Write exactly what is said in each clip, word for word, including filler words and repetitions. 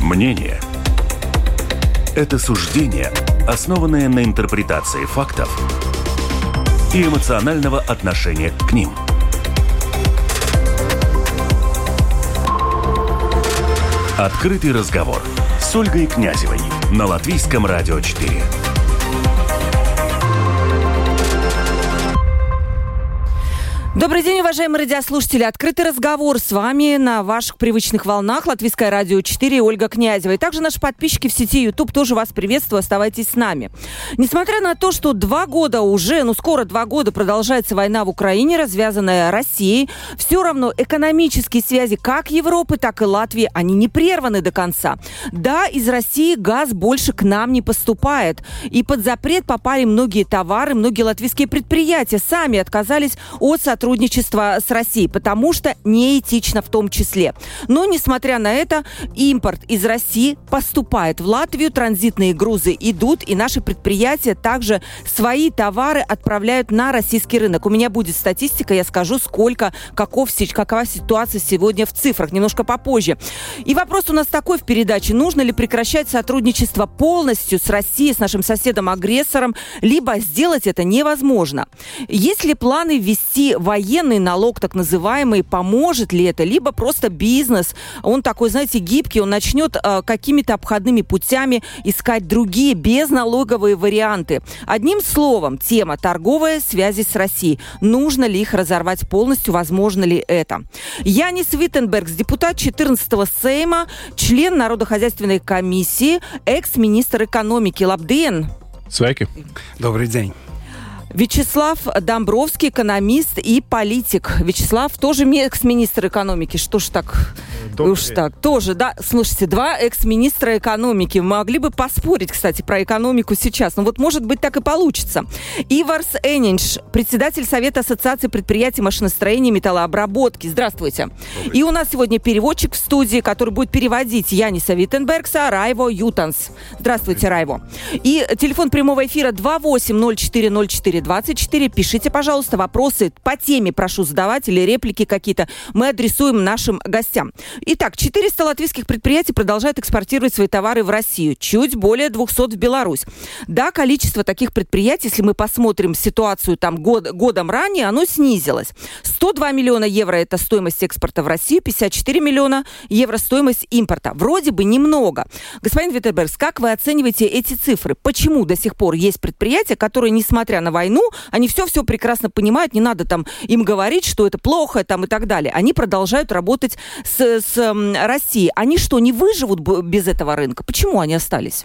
Мнение – это суждение, основанное на интерпретации фактов и эмоционального отношения к ним. Открытый разговор с Ольгой Князевой на Латвийском радио четыре. Добрый день, уважаемые радиослушатели. Открытый разговор с вами на ваших привычных волнах. Латвийское радио четыре, Ольга Князева. И также наши подписчики в сети YouTube тоже вас приветствую. Оставайтесь с нами. Несмотря на то, что два года уже, ну скоро два года продолжается война в Украине, развязанная Россией, все равно экономические связи как Европы, так и Латвии, они не прерваны до конца. Да, из России газ больше к нам не поступает. И под запрет попали многие товары, многие латвийские предприятия сами отказались от сотрудничества сотрудничество с Россией, потому что неэтично в том числе. Но, несмотря на это, импорт из России поступает в Латвию, транзитные грузы идут, и наши предприятия также свои товары отправляют на российский рынок. У меня будет статистика, я скажу, сколько, каков, какова ситуация сегодня в цифрах, немножко попозже. И вопрос у нас такой в передаче: нужно ли прекращать сотрудничество полностью с Россией, с нашим соседом-агрессором, либо сделать это невозможно? Есть ли планы ввести военный налог, так называемый, поможет ли это? Либо просто бизнес, он такой, знаете, гибкий, он начнет э, какими-то обходными путями искать другие безналоговые варианты. Одним словом, тема торговые связи с Россией. Нужно ли их разорвать полностью? Возможно ли это? Янис Виттенбергс, депутат четырнадцатого Сейма, член Народохозяйственной комиссии, экс-министр экономики. Лабден! Sveiki! Добрый день! Вячеслав Домбровский, экономист и политик. Вячеслав тоже экс-министр экономики. Что ж так? Добрый Уж так. Тоже, да. Слушайте, два экс-министра экономики. Могли бы поспорить, кстати, про экономику сейчас. Но вот, может быть, так и получится. Иварс Энинш, председатель Совета Ассоциации предприятий машиностроения и металлообработки. Здравствуйте. Добрый. И у нас сегодня переводчик в студии, который будет переводить Яниса Виттенбергса, Райво Ютанс. Здравствуйте, Райво. И телефон прямого эфира два восемь ноль четыре ноль четыре двадцать четыре. Пишите, пожалуйста, вопросы по теме прошу задавать или реплики какие-то. Мы адресуем нашим гостям. Итак, четыреста латвийских предприятий продолжают экспортировать свои товары в Россию. Чуть более двухсот в Беларусь. Да, количество таких предприятий, если мы посмотрим ситуацию там год, годом ранее, оно снизилось. сто два миллиона евро – это стоимость экспорта в Россию, пятьдесят четыре миллиона евро – стоимость импорта. Вроде бы немного. Господин Виттенбергс, как вы оцениваете эти цифры? Почему до сих пор есть предприятия, которые, несмотря на войну, они все-все прекрасно понимают, не надо там им говорить, что это плохо там, и так далее. Они продолжают работать с, с м, Россией. Они что, не выживут без этого рынка? Почему они остались?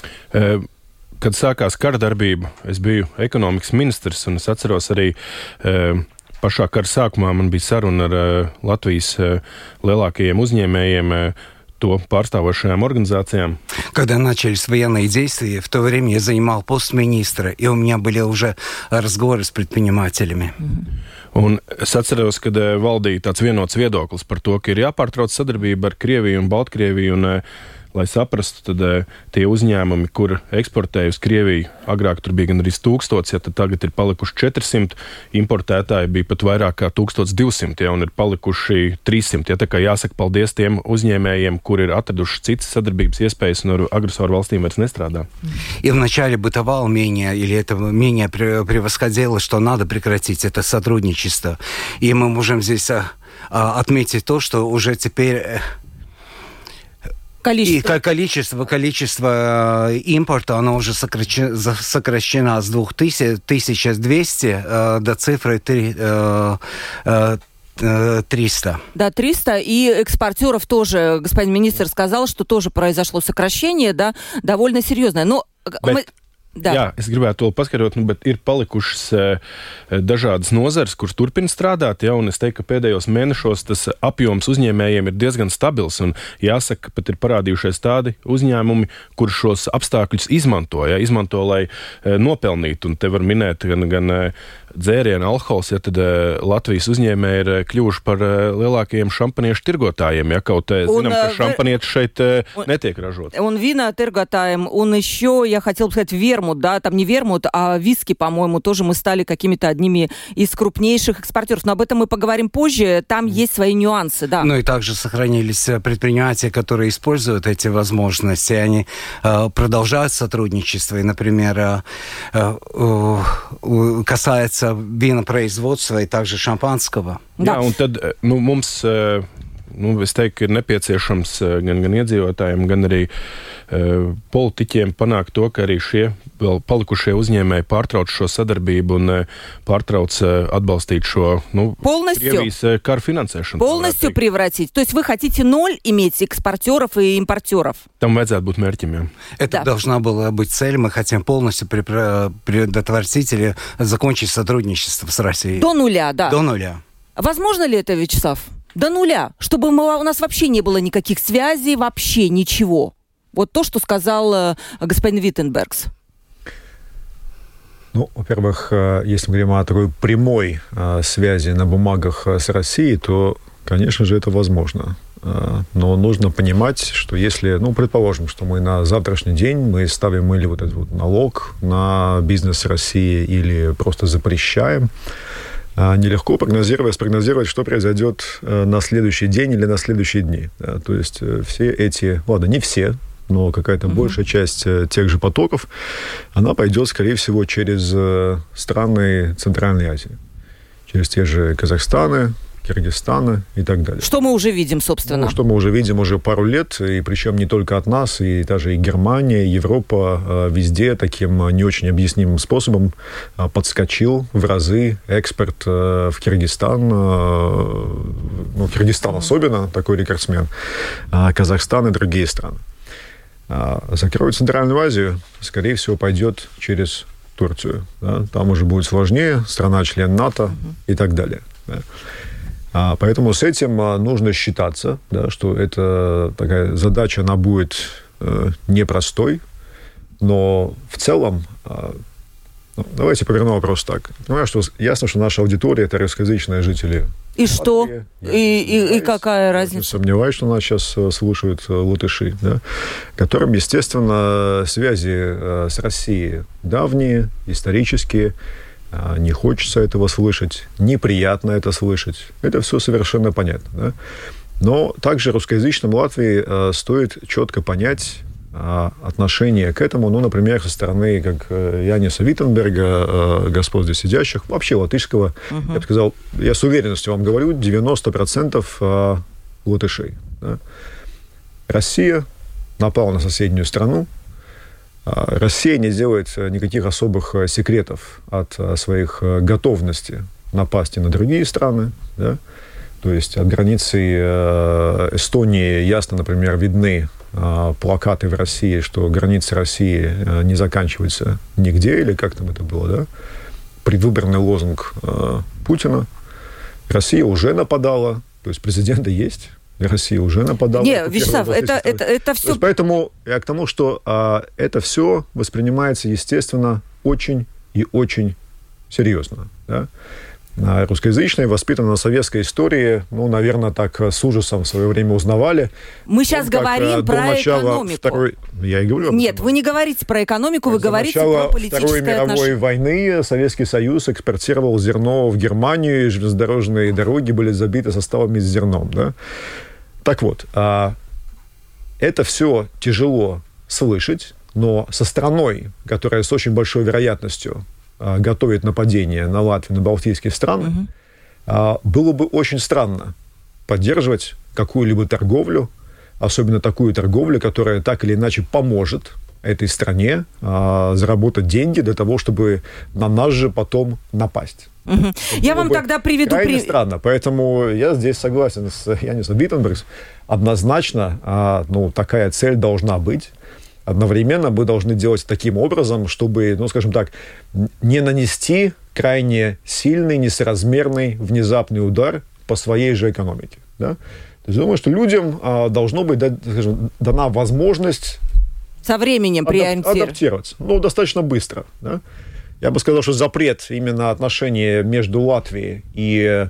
Kad sākās kara darbība, es biju ekonomikas ministrs, un es atceros arī pašā kara sākumā man bija saruna ar Latvijas lielākajiem uzņēmējiem, то pārstāvošajām организациям. Когда начались военные действия, в то время я занимал пост министра, и у меня были уже разговоры с предпринимателями. Un es atceros, kad valdīja tāds vienots viedoklis par to, ka ir jāpārtrauc sadarbība ar Krieviju un Baltkrieviju, un, lai saprastu, tad tie uzņēmumi, kur eksportēja uz Krieviju, agrāk tur bija gan arī tūkstots, ja tad tagad ir palikuši četrsimt, importētāji bija pat vairāk kā tūkstots divsimt, ja, un ir palikuši trīssimt. Ja, tā kā jāsaka paldies tiem uzņēmējiem, kuri ir atraduši citas sadarbības iespējas un ar agresoru valstīm vairs nestrādā. И вначале бытовало мнение, или это мнение превосходило, что надо прекратить это сотрудничество. И мы можем здесь а, а, отметить то, что уже теперь... Количество. И количество, количество импорта, оно уже сокращено, сокращено с двух тысяч, тысяча двести э, до цифры три, э, э, триста. Да, триста. И экспортеров тоже, господин министр сказал, что тоже произошло сокращение, да, довольно серьезное. Но мы... Da. Jā, es gribētu to paskaidrot, nu, bet ir palikušas e, dažādas nozares, kuras turpina strādāt, ja, un es teiktu, ka pēdējos mēnešos tas apjoms uzņēmējiem ir diezgan stabils, un jāsaka, pat ir parādījušies tādi uzņēmumi, kur šos apstākļus izmanto, ja, izmanto, lai e, nopelnītu, un te var minēt gan, gan dzērienu alkohols, ja tad Latvijas uzņēmēji ir kļuvuši par lielākajiem šampaniešu tirgotājiem, ja kaut zinām, ka šампаnieти шeit нетек рожот. Он вина торготаем, он еще, я хотела бы сказать, вермут, да, там не вермут, а виски, по-моему, тоже мы стали какими-то одними из крупнейших экспортеров. Но об этом мы поговорим позже, там есть свои нюансы, да. Ну и также сохранились предприятия, которые используют эти возможности, и они э, продолжают сотрудничество, и, например, э, э, касается винопроизводства и также шампанского. Jā, un tad nu, mums, nu, es teiktu, ir nepieciešams gan, gan iedzīvotājiem, gan arī uh, politiķiem panākt to, ka arī šie vēl palikušie uzņēmēji pārtrauc šo sadarbību un uh, pārtrauc uh, atbalstīt šo, nu, Krievijas uh, karu finansēšanu. Полностью превратить? То есть вы хотите ноль иметь экспортеров и импортеров? Tam vajadzētu būt mērķim, jā. Это да. должна была быть цель. Мы хотим полностью предотвратить или закончить сотрудничество с Россией. До нуля, да. До нуля. Возможно ли это, Вячеслав? До нуля. Чтобы мы, у нас вообще не было никаких связей, вообще ничего. Вот то, что сказал э, господин Виттенбергс. Ну, во-первых, если мы говорим о такой прямой э, связи на бумагах с Россией, то, конечно же, это возможно. Э, но нужно понимать, что если, ну, предположим, что мы на завтрашний день мы ставим или вот этот вот налог на бизнес России, или просто запрещаем, нелегко прогнозировать, спрогнозировать, что произойдет на следующий день или на следующие дни. Да, то есть все эти, ладно, не все, но какая-то mm-hmm. большая часть тех же потоков, она пойдет, скорее всего, через страны Центральной Азии. Через те же Казахстаны, Киргизстана и так далее. Что мы уже видим, собственно? Ну, что мы уже видим уже пару лет, и причем не только от нас, и даже и Германия, и Европа, везде таким не очень объяснимым способом подскочил в разы экспорт в Киргизстан, ну, Киргизстан особенно, такой рекордсмен, Казахстан и другие страны. Закроют Центральную Азию, скорее всего, пойдет через Турцию. Да? Там уже будет сложнее, страна-член НАТО mm-hmm. и так далее. Да? А, поэтому с этим а, нужно считаться, да, что это такая задача, она будет э, непростой, но в целом, э, ну, давайте поверну вопрос так. Понимаю, что ясно, что наша аудитория – это русскоязычные жители. И что? И, и, и какая разница? Не сомневаюсь, что нас сейчас слушают латыши, да, которым, естественно, связи с Россией давние, исторические. Не хочется этого слышать, неприятно это слышать. Это все совершенно понятно. Да? Но также русскоязычным Латвии э, стоит четко понять э, отношение к этому, ну, например, со стороны как э, Яниса Виттенберга, э, господ здесь сидящих, вообще латышского, uh-huh. я бы сказал, я с уверенностью вам говорю, девяносто процентов э, латышей. Да? Россия напала на соседнюю страну. Россия не делает никаких особых секретов от своих готовностей напасть на другие страны. Да? То есть от границы Эстонии ясно, например, видны плакаты в России, что границы России не заканчиваются нигде, или как там это было, да? Предвыборный лозунг Путина. Россия уже нападала, то есть президенты есть. Россия уже нападала. Нет, Вячеслав, это, это, это все... есть, поэтому я к тому, что а, это все воспринимается, естественно, очень и очень серьезно. Да? А русскоязычные, воспитанные на советской истории, ну, наверное, так с ужасом в свое время узнавали. Мы сейчас как, говорим про экономику. Второй... Я и говорю об Нет, этом. вы не говорите про экономику, вы до говорите про политическое Второй мировой отношение. войны Советский Союз экспортировал зерно в Германию, и железнодорожные дороги были забиты составами с зерном. Да? Так вот, это все тяжело слышать, но со страной, которая с очень большой вероятностью готовит нападение на Латвию, на балтийские страны, угу. было бы очень странно поддерживать какую-либо торговлю, особенно такую торговлю, которая так или иначе поможет этой стране заработать деньги для того, чтобы на нас же потом напасть. Угу. Я вам тогда приведу... Крайне при... странно, поэтому я здесь согласен с Янисом Виттенбергом. Однозначно, а, ну, такая цель должна быть. Одновременно мы должны делать таким образом, чтобы, ну, скажем так, не нанести крайне сильный, несоразмерный, внезапный удар по своей же экономике. Да? То есть, думаю, что людям а, должно быть, да, скажем, дана возможность со временем адап- адаптироваться. Ну, достаточно быстро, да? Я бы сказал, что запрет именно отношений между Латвией и,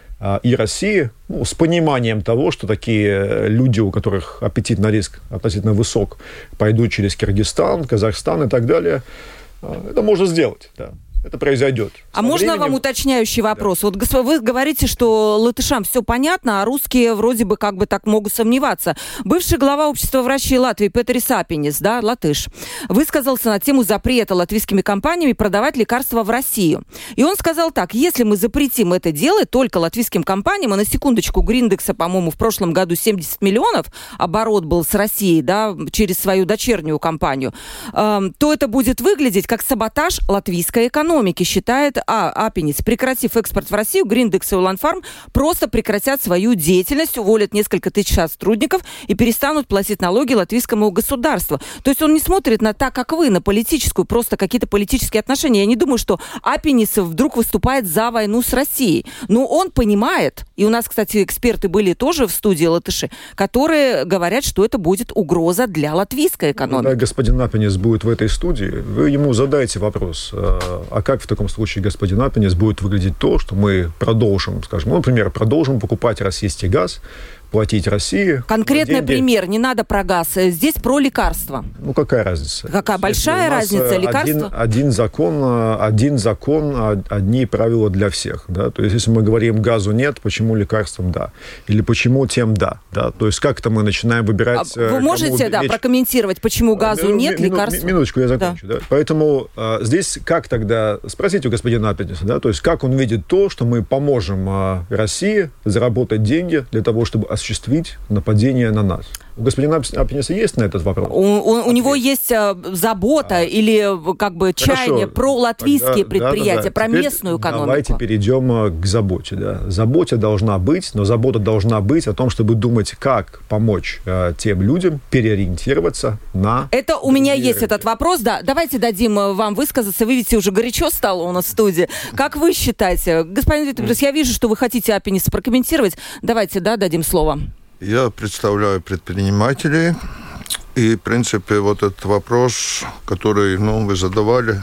и Россией, ну, с пониманием того, что такие люди, у которых аппетит на риск относительно высок, пойдут через Киргизстан, Казахстан и так далее, это можно сделать, да. Это произойдет. А можно временем... вам уточняющий вопрос? Да. Вот вы говорите, что латышам все понятно, а русские вроде бы как бы так могут сомневаться. Бывший глава общества врачей Латвии Петерис Апинис, да, латыш, высказался на тему запрета латвийскими компаниями продавать лекарства в Россию. И он сказал так: если мы запретим это делать только латвийским компаниям, а на секундочку Гриндекса, по-моему, в прошлом году семьдесят миллионов оборот был с Россией, да, через свою дочернюю компанию, э, то это будет выглядеть как саботаж латвийской экономики. Считает а, Апинис. Прекратив экспорт в Россию, Гриндекс и Уланфарм просто прекратят свою деятельность, уволят несколько тысяч сотрудников и перестанут платить налоги латвийскому государству. То есть он не смотрит на так, как вы, на политическую, просто какие-то политические отношения. Я не думаю, что Апинис вдруг выступает за войну с Россией. Но он понимает, и у нас, кстати, эксперты были тоже в студии латыши, которые говорят, что это будет угроза для латвийской экономики. Когда господин Апинис будет в этой студии, вы ему задаете вопрос, а как в таком случае, господин Апинис, будет выглядеть то, что мы продолжим, скажем, ну, например, продолжим покупать российский газ, платить России. Конкретный пример, не надо про газ, здесь про лекарства. Ну, какая разница? Какая большая разница, лекарства? Один, один закон, один закон, одни правила для всех, да, то есть если мы говорим газу нет, почему лекарствам да, или почему тем да, да, то есть как-то мы начинаем выбирать... А вы можете, да, прокомментировать, почему газу Мину, нет, мину, лекарств? Минуточку, я закончу, да. Да. Поэтому а, здесь как тогда, спросите у господина Апиниса, да, то есть как он видит то, что мы поможем а, России заработать деньги для того, чтобы осуществить нападение на нас. У господина Апиниса есть на этот вопрос? У, у, у него есть а, забота а. или как бы чаяние Хорошо. Про латвийские Тогда, предприятия, да, да, да. про Теперь местную экономику. Давайте перейдем к заботе. Да. Забота должна быть, но забота должна быть о том, чтобы думать, как помочь а, тем людям переориентироваться на... Это у меня есть рынки. Этот вопрос, да. Давайте дадим вам высказаться. Вы видите, уже горячо стало у нас в студии. Как вы считаете? Господин Витебрис, я вижу, что вы хотите Апиниса прокомментировать. Давайте, да, дадим слово. Я представляю предпринимателей, и, в принципе, вот этот вопрос, который, ну, вы задавали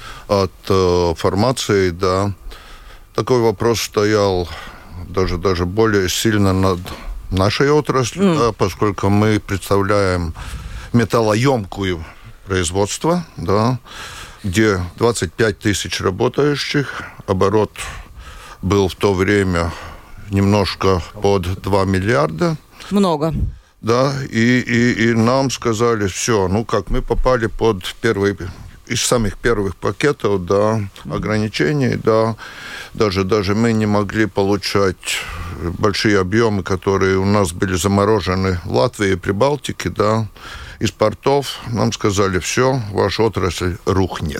от э, формации, да, такой вопрос стоял даже, даже более сильно над нашей отраслью, mm. да, поскольку мы представляем металлоемкую производство, да, где двадцать пять тысяч работающих, оборот был в то время немножко под два миллиарда. Много. Да, и, и, и нам сказали, все, ну как, мы попали под первый, из самых первых пакетов, да, ограничений, да, даже, даже мы не могли получать большие объемы, которые у нас были заморожены в Латвии и Прибалтике, да, из портов. Нам сказали, все, ваша отрасль рухнет,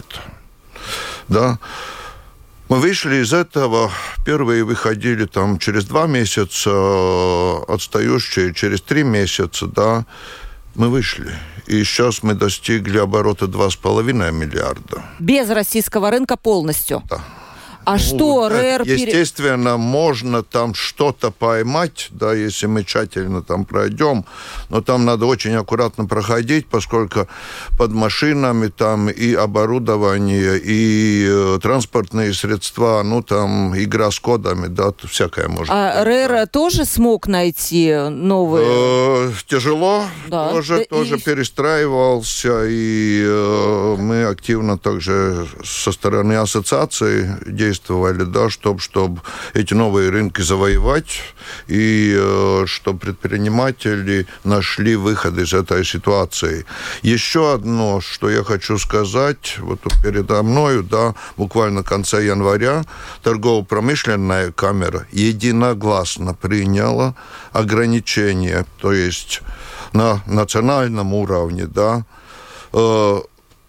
да. Мы вышли из этого, первые выходили там через два месяца, отстающие через три месяца, да, мы вышли. И сейчас мы достигли оборота два с половиной миллиарда. Без российского рынка полностью? Да. А ну, что РЭР... Естественно, можно там что-то поймать, да, если мы тщательно там пройдем, но там надо очень аккуратно проходить, поскольку под машинами там и оборудование, и э, транспортные средства, ну там игра с кодами, да, всякое может а быть. А РЭР да. тоже смог найти новые? Э, тяжело, да. тоже, да, тоже и... перестраивался, и э, мы активно также со стороны ассоциации действовали, да, чтобы чтоб эти новые рынки завоевать, и э, чтобы предприниматели нашли выход из этой ситуации. Еще одно, что я хочу сказать, вот передо мною, да, буквально в конце января торгово-промышленная камера единогласно приняла ограничения, то есть на национальном уровне, да, э,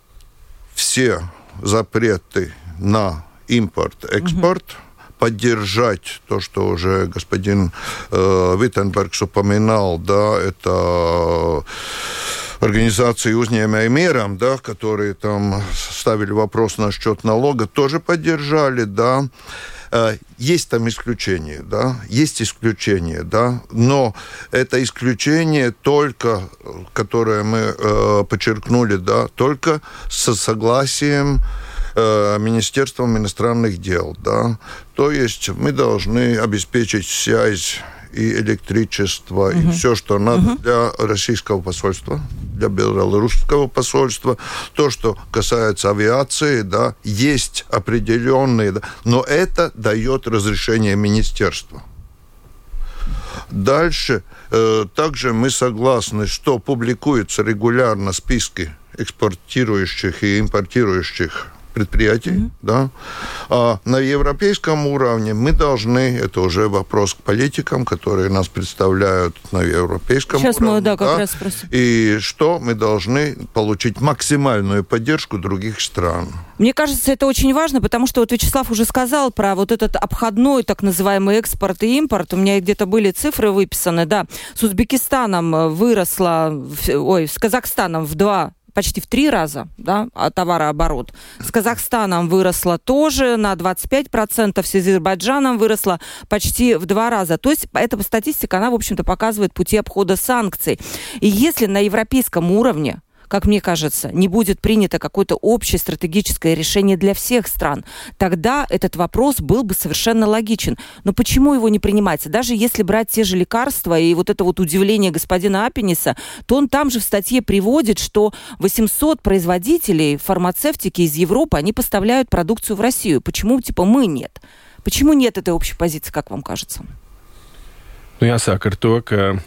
все запреты на импорт, экспорт, uh-huh. поддержать то, что уже господин э, Виттенбергс упоминал, да, это организации «Uzņēmēju миром», да, которые там ставили вопрос насчет налога, тоже поддержали, да. Есть там исключения, да, есть исключения, да, но это исключение только, которое мы э, подчеркнули, да, только со согласием э, Министерством иностранных дел, да. То есть мы должны обеспечить связь и электричество, uh-huh. и все, что надо uh-huh. для российского посольства, для белорусского посольства. То, что касается авиации, да, есть определенные, да, но это дает разрешение министерства. Дальше э, также мы согласны, что публикуются регулярно списки экспортирующих и импортирующих предприятий, mm-hmm. да. А на европейском уровне мы должны, это уже вопрос к политикам, которые нас представляют на европейском Сейчас уровне. Мы, да, как да, раз спросим. И что мы должны получить максимальную поддержку других стран. Мне кажется, это очень важно, потому что вот Вячеслав уже сказал про вот этот обходной так называемый экспорт и импорт. У меня где-то были цифры выписаны, да. С Узбекистаном выросла, ой, с Казахстаном в два почти в три раза, да, товарооборот. С Казахстаном выросла тоже на двадцать пять процентов, с Азербайджаном выросла почти в два раза. То есть эта статистика, она, в общем-то, показывает пути обхода санкций. И если на европейском уровне, как мне кажется, не будет принято какое-то общее стратегическое решение для всех стран, тогда этот вопрос был бы совершенно логичен. Но почему его не принимается? Даже если брать те же лекарства и вот это вот удивление господина Аппениса, то он там же в статье приводит, что восемьсот производителей фармацевтики из Европы, они поставляют продукцию в Россию. Почему, типа, мы нет? Почему нет этой общей позиции, как вам кажется? Nu, jāsāk ar to, ka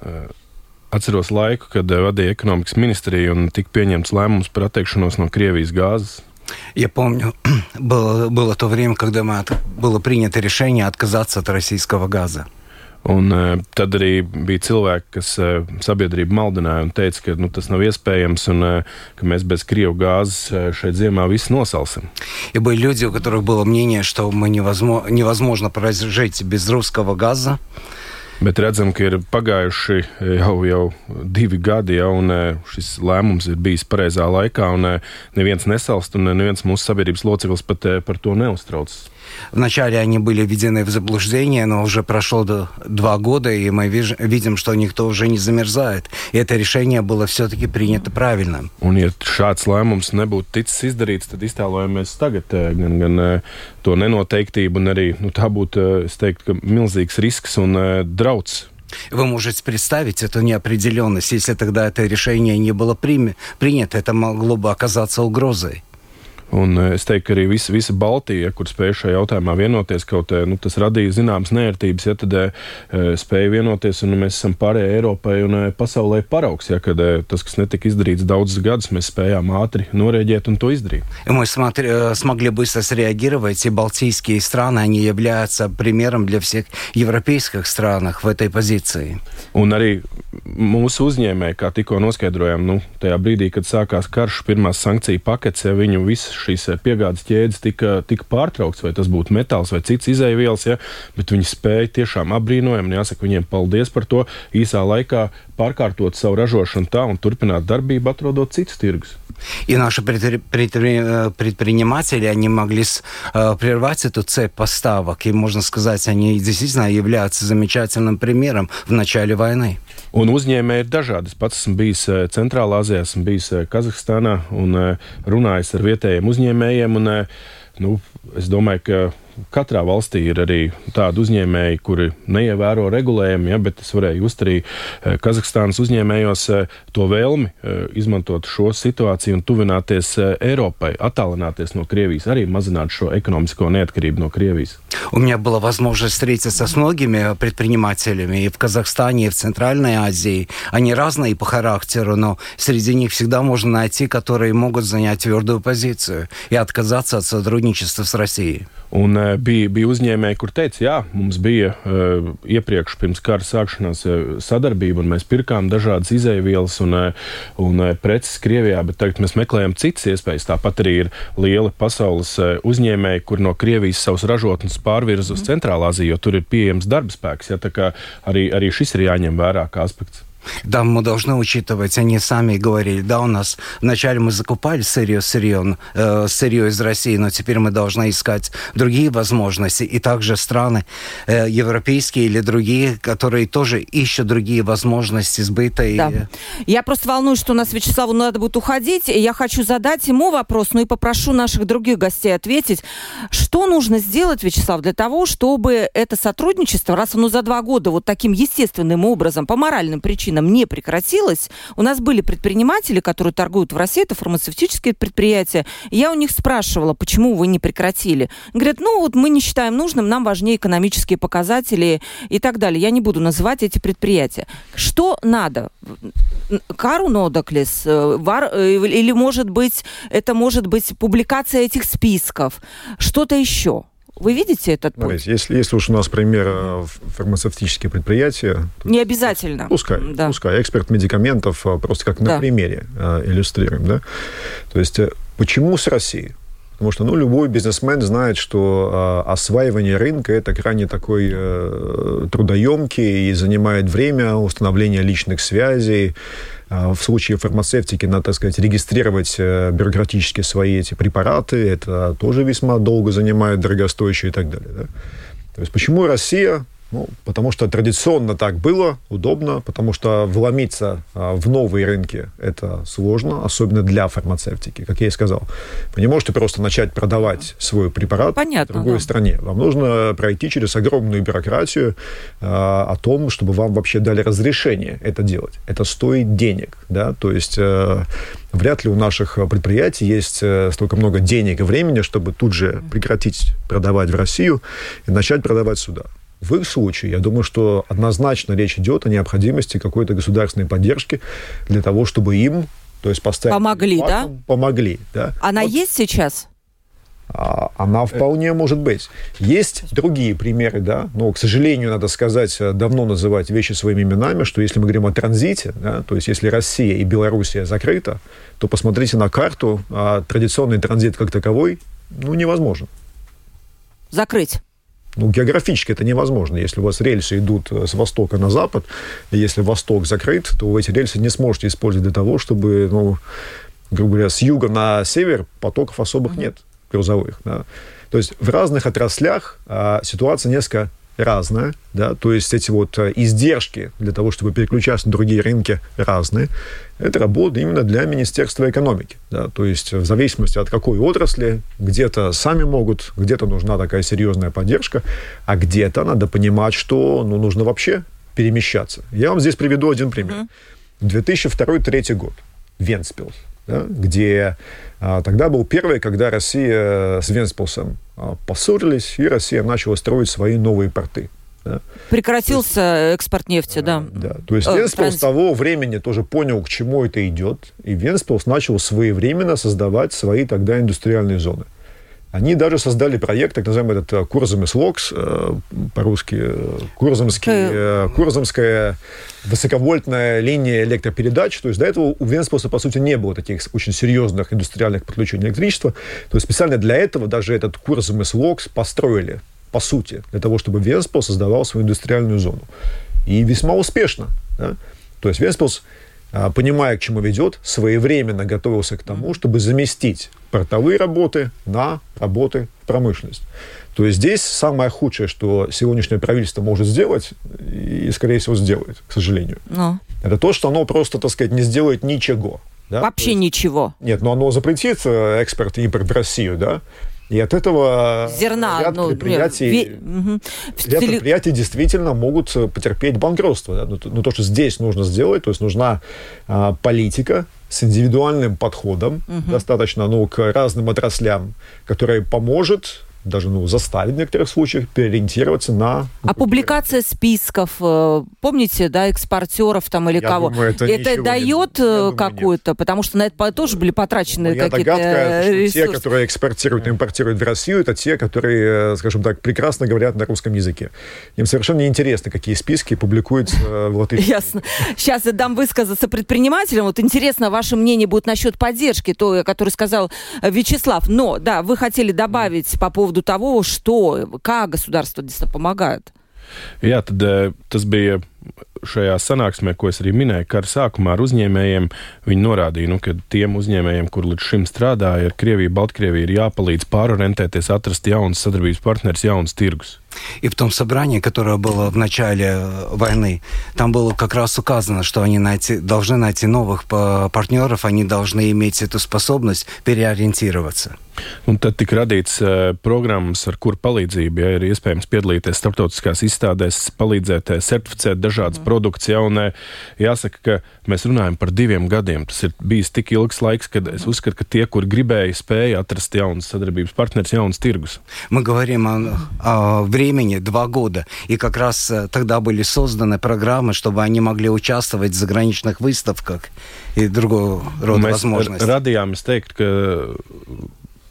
atceros laiku, kad vadīja ekonomikas ministriju un tika pieņemts lēmums par atteikšanos no Krievijas gāzes. Я помню, было, было то время, когда мы от, было принято решение отказаться от российского газа. Un uh, tad arī bija cilvēki, kas uh, sabiedrību maldināja un teica, ka nu, tas nav iespējams un uh, ka mēs bez Krievu gāzes uh, šeit ziemā visi nosalsim. И были люди, у которых было мнение, что мы невозможно, невозможно прожить без русского газа. Bet redzam, ka ir pagājuši jau, jau divi gadi, ja, un šis lēmums ir bijis pareizā laikā, un neviens nesalst, un neviens mūsu sabiedrības loceklis pat par to neuztraucas. Вначале они были введены в заблуждение, но уже прошло два года, и мы виж, видим, что никто уже не замерзает. И это решение было все-таки принято правильно. Un, ja šāds lēmums nebūtu ticis izdarīts, tad iztēlojamies tagad gan, gan to nenoteiktību, un arī nu, tā būtu, es teiktu, ka milzīgs risks un drauds. Вы можете представить эту неопределенность. Если тогда это решение не было при, принято, это могло бы оказаться угрозой. Un es teiktu, ka arī visa, visa Baltija, kur spēja šajā jautājumā vienoties, kaut nu, tas radīja zināmas nērtības, ja tad uh, spēja vienoties, un mēs esam pārējai Eiropai un uh, pasaulē paraugs, ja kad uh, tas, kas netika izdarīts daudzus gadus, mēs spējām ātri norēģēt un to izdarīt. И мы смотри, смогли быстро среагировать, и балтийские страны, они являются примером для всех европейских стран в этой позиции. Un arī mūsu uzņēmēji, kā tikko noskaidrojām, nu, tajā brīdī, kad sākās karš, pirmās sankciju paketes, ja viņu visu šīs piegādes ķēdes tika, tika pārtraukts, vai tas būtu metāls vai cits izēvielas, ja, bet viņi spēja tiešām apbrīnojami, jāsaka viņiem paldies par to, īsā laikā pārkārtot savu ražošanu tā un turpināt darbību, atrodot citus tirgus. И наши предприниматели, они могли прервать эту цепь поставок, и, можно сказать, они действительно являются замечательным примером в начале войны. Un uzņēmēji ir dažādi. Es pats esmu bijis Centrālā Azijā, esmu bijis Kazahstānā un runājis ar vietējiem uzņēmējiem. Un, nu, es domāju, ka katrā valstī ir arī tādi uzņēmēji, kuri neievēro regulējumu, ja, bet es varēju just arī Kazahstānas uzņēmējos to vēlmi izmantot šo situāciju un tuvināties Eiropai, attālināties no Krievijas, arī mazināt šo ekonomisko neatkarību no Krievijas. У меня была возможность встретиться с многими предпринимателями и в Казахстане, и в Центральной Азии. Они разные по характеру, но среди них всегда можно найти, которые могут занять твердую позицию и отказаться от сотрудничества с Россией. Un uh, bija, bija uzņēmēji, kur teica, jā, mums bija uh, iepriekš pirms kara sākšanās uh, sadarbība, un mēs pirkām dažādas izēvielas un, uh, un uh, preces Krievijā, bet tagad mēs meklējam citas iespējas. Tāpat arī ir lieli pasaules uh, uzņēmēji, kur no Krievijas savus ražotnes pārvirza uz Centrālā Aziju, jo tur ir pieejams darba spēks. Ja, tā kā arī, arī šis ir jāņem vērā kā aspekts. Да, мы должны учитывать, они сами говорили, да, у нас вначале мы закупали сырье, сырье, э, сырье из России, но теперь мы должны искать другие возможности. И также страны э, европейские или другие, которые тоже ищут другие возможности сбыта. Да. И... Я просто волнуюсь, что у нас Вячеславу надо будет уходить, и я хочу задать ему вопрос, ну и попрошу наших других гостей ответить. Что нужно сделать, Вячеслав, для того, чтобы это сотрудничество, раз оно за два года вот таким естественным образом, по моральным причинам не прекратилось? У нас были предприниматели, которые торгуют в России, это фармацевтические предприятия. Я у них спрашивала, почему вы не прекратили. Говорят, ну вот мы не считаем нужным, нам важнее экономические показатели и так далее. Я не буду называть эти предприятия. Что надо? Кару нодоклес? Или, может быть, это может быть публикация этих списков? Что-то еще? Вы видите этот путь? Смотрите, если, если уж у нас пример фармацевтические предприятия... Не обязательно. Пускай, да. пускай. Эксперт медикаментов просто как на да. примере иллюстрируем. Да? То есть почему с Россией? Потому что ну, любой бизнесмен знает, что э, осваивание рынка – это крайне такой э, трудоемкий и занимает время установления личных связей. Э, в случае фармацевтики надо, так сказать, регистрировать э, бюрократически свои эти препараты. Это тоже весьма долго занимает, дорогостоящее и так далее. Да? То есть почему Россия? Ну, потому что традиционно так было, удобно, потому что вломиться а, в новые рынки – это сложно, особенно для фармацевтики, как я и сказал. Вы не можете просто начать продавать свой препарат Понятно, в другой да. стране. Вам нужно пройти через огромную бюрократию а, о том, чтобы вам вообще дали разрешение это делать. Это стоит денег, да, то есть а, вряд ли у наших предприятий есть а, столько много денег и времени, чтобы тут же прекратить продавать в Россию и начать продавать сюда. В их случае, я думаю, что однозначно речь идет о необходимости какой-то государственной поддержки для того, чтобы им, то есть поставить... Помогли, да? Помогли, да. Она вот. Есть сейчас? А, она вполне может быть. Есть другие примеры, да, но, к сожалению, надо сказать, давно называть вещи своими именами, что если мы говорим о транзите, да, то есть если Россия и Белоруссия закрыта, то посмотрите на карту, а традиционный транзит как таковой, ну, невозможен. Закрыть? Ну, географически это невозможно. Если у вас рельсы идут с востока на запад, и если восток закрыт, то вы эти рельсы не сможете использовать для того, чтобы, ну, грубо говоря, с юга на север потоков особых mm-hmm. нет грузовых. Да. То есть в разных отраслях а, ситуация несколько разная, да, то есть эти вот издержки для того, чтобы переключаться на другие рынки, разные. Это работа именно для Министерства экономики, да, то есть в зависимости от какой отрасли, где-то сами могут, где-то нужна такая серьезная поддержка, а где-то надо понимать, что ну, нужно вообще перемещаться. Я вам здесь приведу один пример. Mm-hmm. две тысячи второй — две тысячи третий год. Вентспилс, да, где а, тогда был первый, когда Россия с Вентспилсом а, поссорились, и Россия начала строить свои новые порты. Да. Прекратился есть, экспорт нефти, да. да. То есть Вентспилс с того времени тоже понял, к чему это идет, и Вентспилс начал своевременно создавать свои тогда индустриальные зоны. Они даже создали проект, так называемый этот Курзамислокс, по-русски Курзамский, Курзамская высоковольтная линия электропередач. То есть до этого у Вентспилса, по сути, не было таких очень серьезных индустриальных подключений электричества. То есть специально для этого даже этот Курзамислокс построили, по сути, для того, чтобы Вентспилс создавал свою индустриальную зону. И весьма успешно. Да? То есть Вентспилс, понимая, к чему ведет, своевременно готовился к тому, чтобы заместить портовые работы на работы в промышленность. То есть здесь самое худшее, что сегодняшнее правительство может сделать, и, скорее всего, сделает, к сожалению, но. это то, что оно просто, так сказать, не сделает ничего. Да? Вообще есть, ничего. Нет, но оно запретит экспорт и импорт в Россию, да? И от этого Зерна, ряд, ну, предприятий, ве... угу. ряд предприятий действительно могут потерпеть банкротство. Да? Но, но то, что здесь нужно сделать, то есть нужна а, политика с индивидуальным подходом, угу. достаточно ну, к разным отраслям, которая поможет, даже ну, заставить в некоторых случаях переориентироваться на... А публикация списков, помните, да, экспортеров там или я кого? Думаю, это это дает не... какую-то? Потому что на это тоже были потрачены Моя какие-то догадка, ресурсы. Что те, которые экспортируют и импортируют в Россию, это те, которые, скажем так, прекрасно говорят на русском языке. Им совершенно неинтересно, какие списки публикуются в латышском. Ясно. Сейчас я дам высказаться предпринимателям. Вот интересно, ваше мнение будет насчет поддержки, то, который сказал Вячеслав. Но, да, вы хотели добавить по поводу того, что, kā государство действительно помогает. Jā, tad tas bija šajā sanāksmē, ko es arī minēju, ka ar sākumā ar uzņēmējiem viņi norādīja, nu, ka tiem uzņēmējiem, kur līdz šim strādāja ar Krieviju, Baltkrieviju, ir jāpalīdz pārorientēties, atrast jaunas sadarbības partneris, jaunas tirgus. И в том собрании, которое было в начале войны, там было как раз указано, что они найти, должны найти новых партнеров, они должны иметь эту способность переориентироваться. Un tad tika radīts uh, programmas, ar kuru palīdzību ja, ir iespējams piedalīties starptautiskās izstādēs, palīdzēt certificēt dažādas mm. produktus. Ja, un, jāsaka, ka mēs runājam par diviem gadiem. Tas ir bijis tik ilgs laiks, kad es uzskatu, ka tie, kur gribēja, spēja atrast jaunas sadarbības partneris, jaunas tirgus. Мы говорим о, о времени два года, и как раз тогда были созданы программы, чтобы они могли участвовать в заграничных выставках и другого рода возможностей. Mēs radījām, es teiktu, ka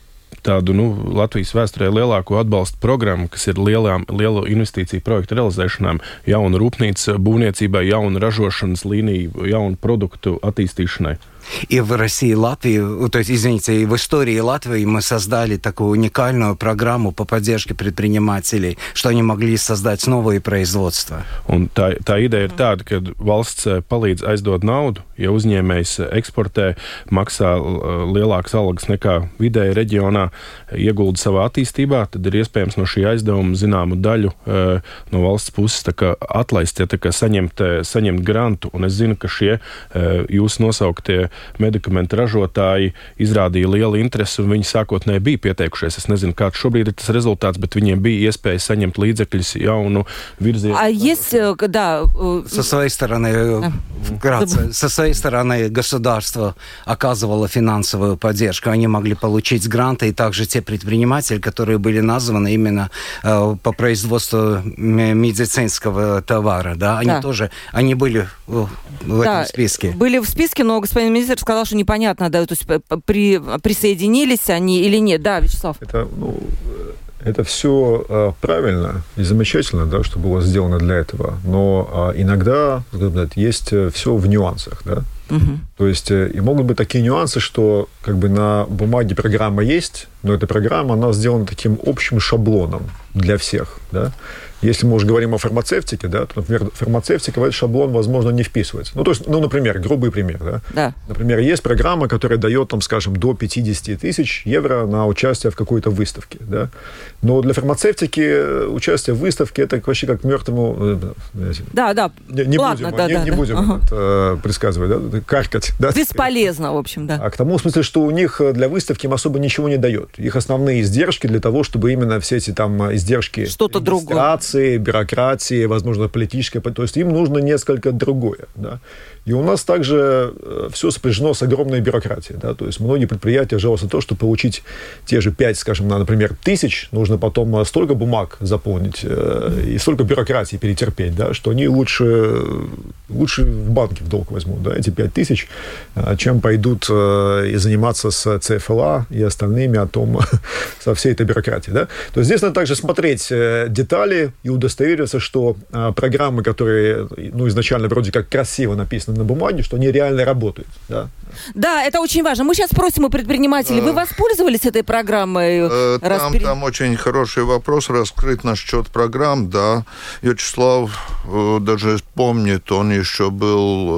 tādu nu, Latvijas vēsturē lielāko atbalstu programmu, kas ir lielām, lielu investīciju projektu realizēšanām, jaunu rūpnīcu būvniecībai, jaunu ražošanas līniju, jaunu produktu attīstīšanai. И в России и Латвии, то есть, извините, и в истории Латвии мы создали такую уникальную программу по поддержке предпринимателей, что они могли создать новые производства. Un tā, tā ideja ir tāda, ka valsts palīdz aizdot naudu, ja uzņēmējs eksportē, maksā lielākas algas nekā vidēji reģionā, iegulda savā attīstībā, tad ir iespējams no šī aizdevuma zināmu daļu no valsts puses tā kā atlaist, ja tā kā saņemt, saņemt grantu. Un es zinu, ka šie jūs nosauktie medikamentu ražotāji izrādīja lielu interesi, un viņi sākotnēji bija pieteikušies. Es nezinu, kāds šobrīd ir tas rezultāts, bet viņiem bija iespēja saņemt līdzekļus jaunu virzienu. А есть, да... Со своей стороны, вкратце, со своей стороны государство оказывало финансовую поддержку. Они могли получить гранты, и также те предприниматели, которые были названы именно э, по производству медицинского товара, да, они да. тоже, они были в, в да, этом списке. Были в списке, но господин министр сказал, что непонятно, да, то есть при, присоединились они или нет. Да, Вячеслав? Это, ну, это все э, правильно и замечательно, да, что было сделано для этого, но э, иногда сказать, есть все в нюансах, да. Угу. То есть э, и могут быть такие нюансы, что как бы на бумаге программа есть, но эта программа, она сделана таким общим шаблоном для всех, да. Если мы уже говорим о фармацевтике, да, то, например, фармацевтика в этот шаблон, возможно, не вписывается. Ну, то есть, ну, например, грубый пример, да? Да. Например, есть программа, которая дает, там, скажем, до пятьдесят тысяч евро на участие в какой-то выставке, да? Но для фармацевтики участие в выставке это вообще как мертвому... Да, да, не, не ладно, будем, да, не, да, не да. будем ага. это, предсказывать, да? Каркать. Да? Бесполезно, в общем, да. А к тому, в смысле, что у них для выставки им особо ничего не дает. Их основные издержки для того, чтобы именно все эти там издержки... Что-то регистрации, бюрократии, возможно, политическое, то есть им нужно несколько другое, да. И у нас также все сопряжено с огромной бюрократией, да, то есть многие предприятия жалуются на то, что получить те же пять, скажем, например, тысяч, нужно потом столько бумаг заполнить и столько бюрократии перетерпеть, да, что они лучше, лучше в банке в долг возьмут, да, эти пять тысяч, чем пойдут и заниматься с ЦФЛА и остальными о том, со всей этой бюрократией, да. То есть здесь надо также смотреть детали и удостовериться, что программы, которые, ну, изначально вроде как красиво написаны на бумаге, что они реально работают. Да, да, это очень важно. Мы сейчас спросим у предпринимателей, вы воспользовались этой программой? Там, Распри... там очень хороший вопрос раскрыт насчет программ, да. Вячеслав э, даже помнит, он еще был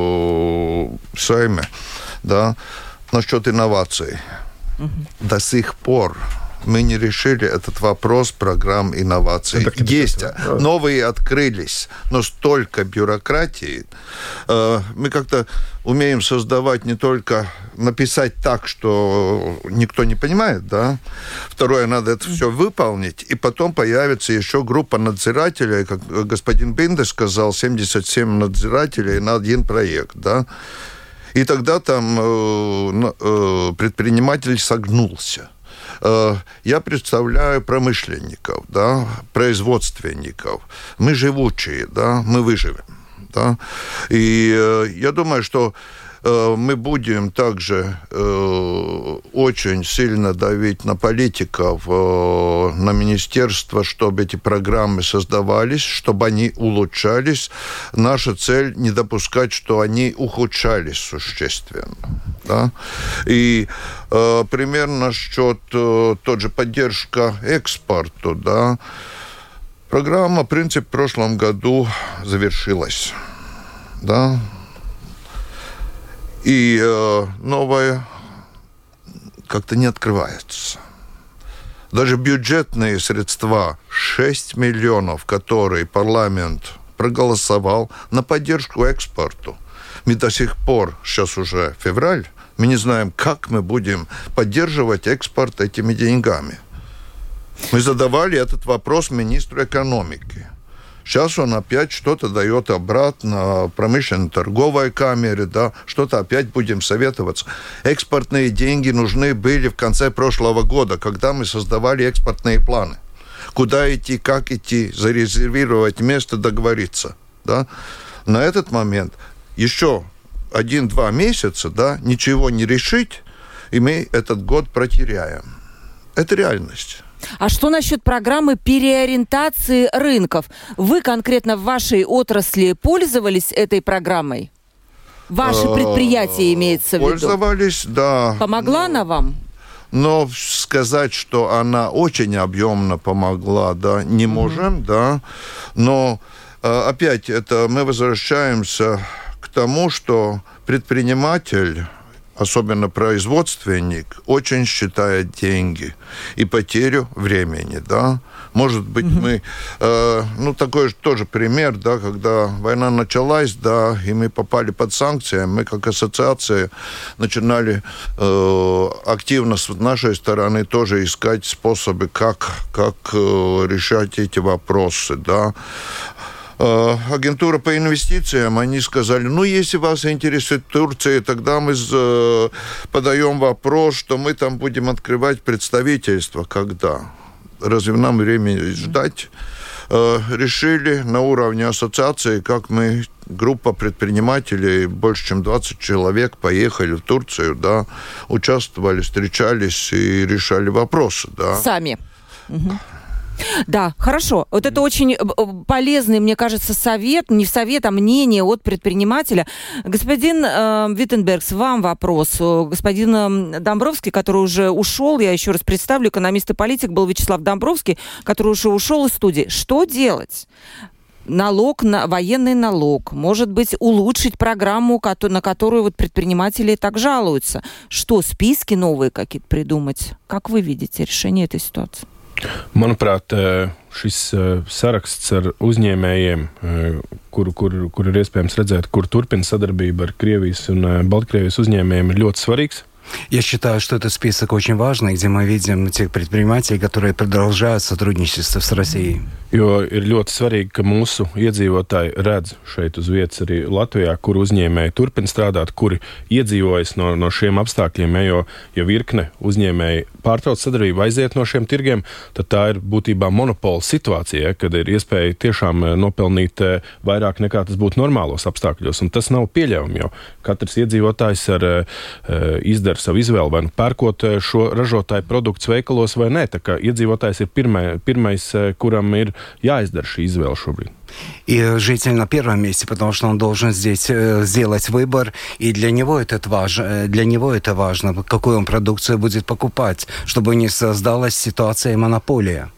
э, в Сейме, да, насчет инноваций. Угу. До сих пор мы не решили этот вопрос программ инноваций. Это есть, да. Новые открылись, но столько бюрократии. Мы как-то умеем создавать не только написать так, что никто не понимает, да. Второе, надо это все выполнить, и потом появится еще группа надзирателей, как господин Биндер сказал, семьдесят семь надзирателей на один проект, да. И тогда там э, э, предприниматель согнулся. Я представляю промышленников, да, производственников. Мы живучие, да, мы выживем. Да. И я думаю, что мы будем также э, очень сильно давить на политиков, э, на министерство, чтобы эти программы создавались, чтобы они улучшались. Наша цель не допускать, что они ухудшались существенно. Да? И э, примерно насчет э, тот же поддержка экспорту, да. Программа, в принципе, в прошлом году завершилась. Да? И э, новая как-то не открывается. Даже бюджетные средства, шесть миллионов, которые парламент проголосовал на поддержку экспорту. Мы до сих пор, сейчас уже февраль, мы не знаем, как мы будем поддерживать экспорт этими деньгами. Мы задавали этот вопрос министру экономики. Сейчас он опять что-то дает обратно промышленно-торговой камере, да, что-то опять будем советоваться. Экспортные деньги нужны были в конце прошлого года, когда мы создавали экспортные планы. Куда идти, как идти, зарезервировать место, договориться. Да. На этот момент еще один-два месяца, да, ничего не решить, и мы этот год протеряем. Это реальность. А что насчет программы переориентации рынков? Вы конкретно в вашей отрасли пользовались этой программой? Ваше предприятие имеется в виду? Пользовались, да. Помогла она вам? Но сказать, что она очень объемно помогла, да, не можем, mm-hmm. да. Но опять это мы возвращаемся к тому, что предприниматель, особенно производственник, очень считает деньги и потерю времени, да. Может быть, mm-hmm. мы... Э, ну, такой же тоже пример, да, когда война началась, да, и мы попали под санкции, мы как ассоциация начинали э, активно с нашей стороны тоже искать способы, как, как э, решать эти вопросы, да. Агентура по инвестициям, они сказали, ну, если вас интересует Турция, тогда мы э, подаем вопрос, что мы там будем открывать представительство. Когда? Разве нам времени ждать? Э, решили на уровне ассоциации, как мы, группа предпринимателей, больше чем двадцать человек, поехали в Турцию, да, участвовали, встречались и решали вопросы, да. Сами. Угу. Да, хорошо. Вот это очень полезный, мне кажется, совет, не совет, а мнение от предпринимателя. Господин э, Виттенбергс, вам вопрос. Господин Домбровский, который уже ушел, я еще раз представлю, экономист и политик, был Вячеслав Домбровский, который уже ушел из студии. Что делать? Налог, на, военный налог, может быть, улучшить программу, на которую вот предприниматели так жалуются. Что, списки новые какие-то придумать? Как вы видите решение этой ситуации? Manuprāt, šis saraksts ar uzņēmējiem, kur, kur, kur ir iespējams redzēt, kur turpina sadarbība ar Krievijas un Baltkrievijas uzņēmējiem, ir ļoti svarīgs. Я считаю, что этот список очень важный, где мы видим тех предпринимателей, которые продолжают сотрудничество с Россией. Jo ir ļoti svarīgi, ka mūsu iedzīvotāji redz šeit uz vietas arī Latvijā, kur uzņēmēji turpina strādāt, kuri iedzīvojas no, no šiem apstākļiem, jo, ja virkne uzņēmēji pārtrauc sadarbību, aiziet no šiem tirgiem, tad tā ir būtībā monopola situācija, kad ir iespēja tiešām nopelnīt vairāk nekā tas būtu normālos apstākļos, un tas nav pieļaujami, jo katrs iedzīvotājs ar izdara savu izvēli, vai nu pērkot šo ražotāju produktus veikalos vai nē, tā kā iedzīvotājs ir pirmai, pirmais, kuram ir jāizdara šī izvēle šobrīd. И житель на первом месте, потому что он должен здесь сделать выбор, и для него это важно, для него это важно, какую он продукцию будет покупать, чтобы не создалась ситуация монополии.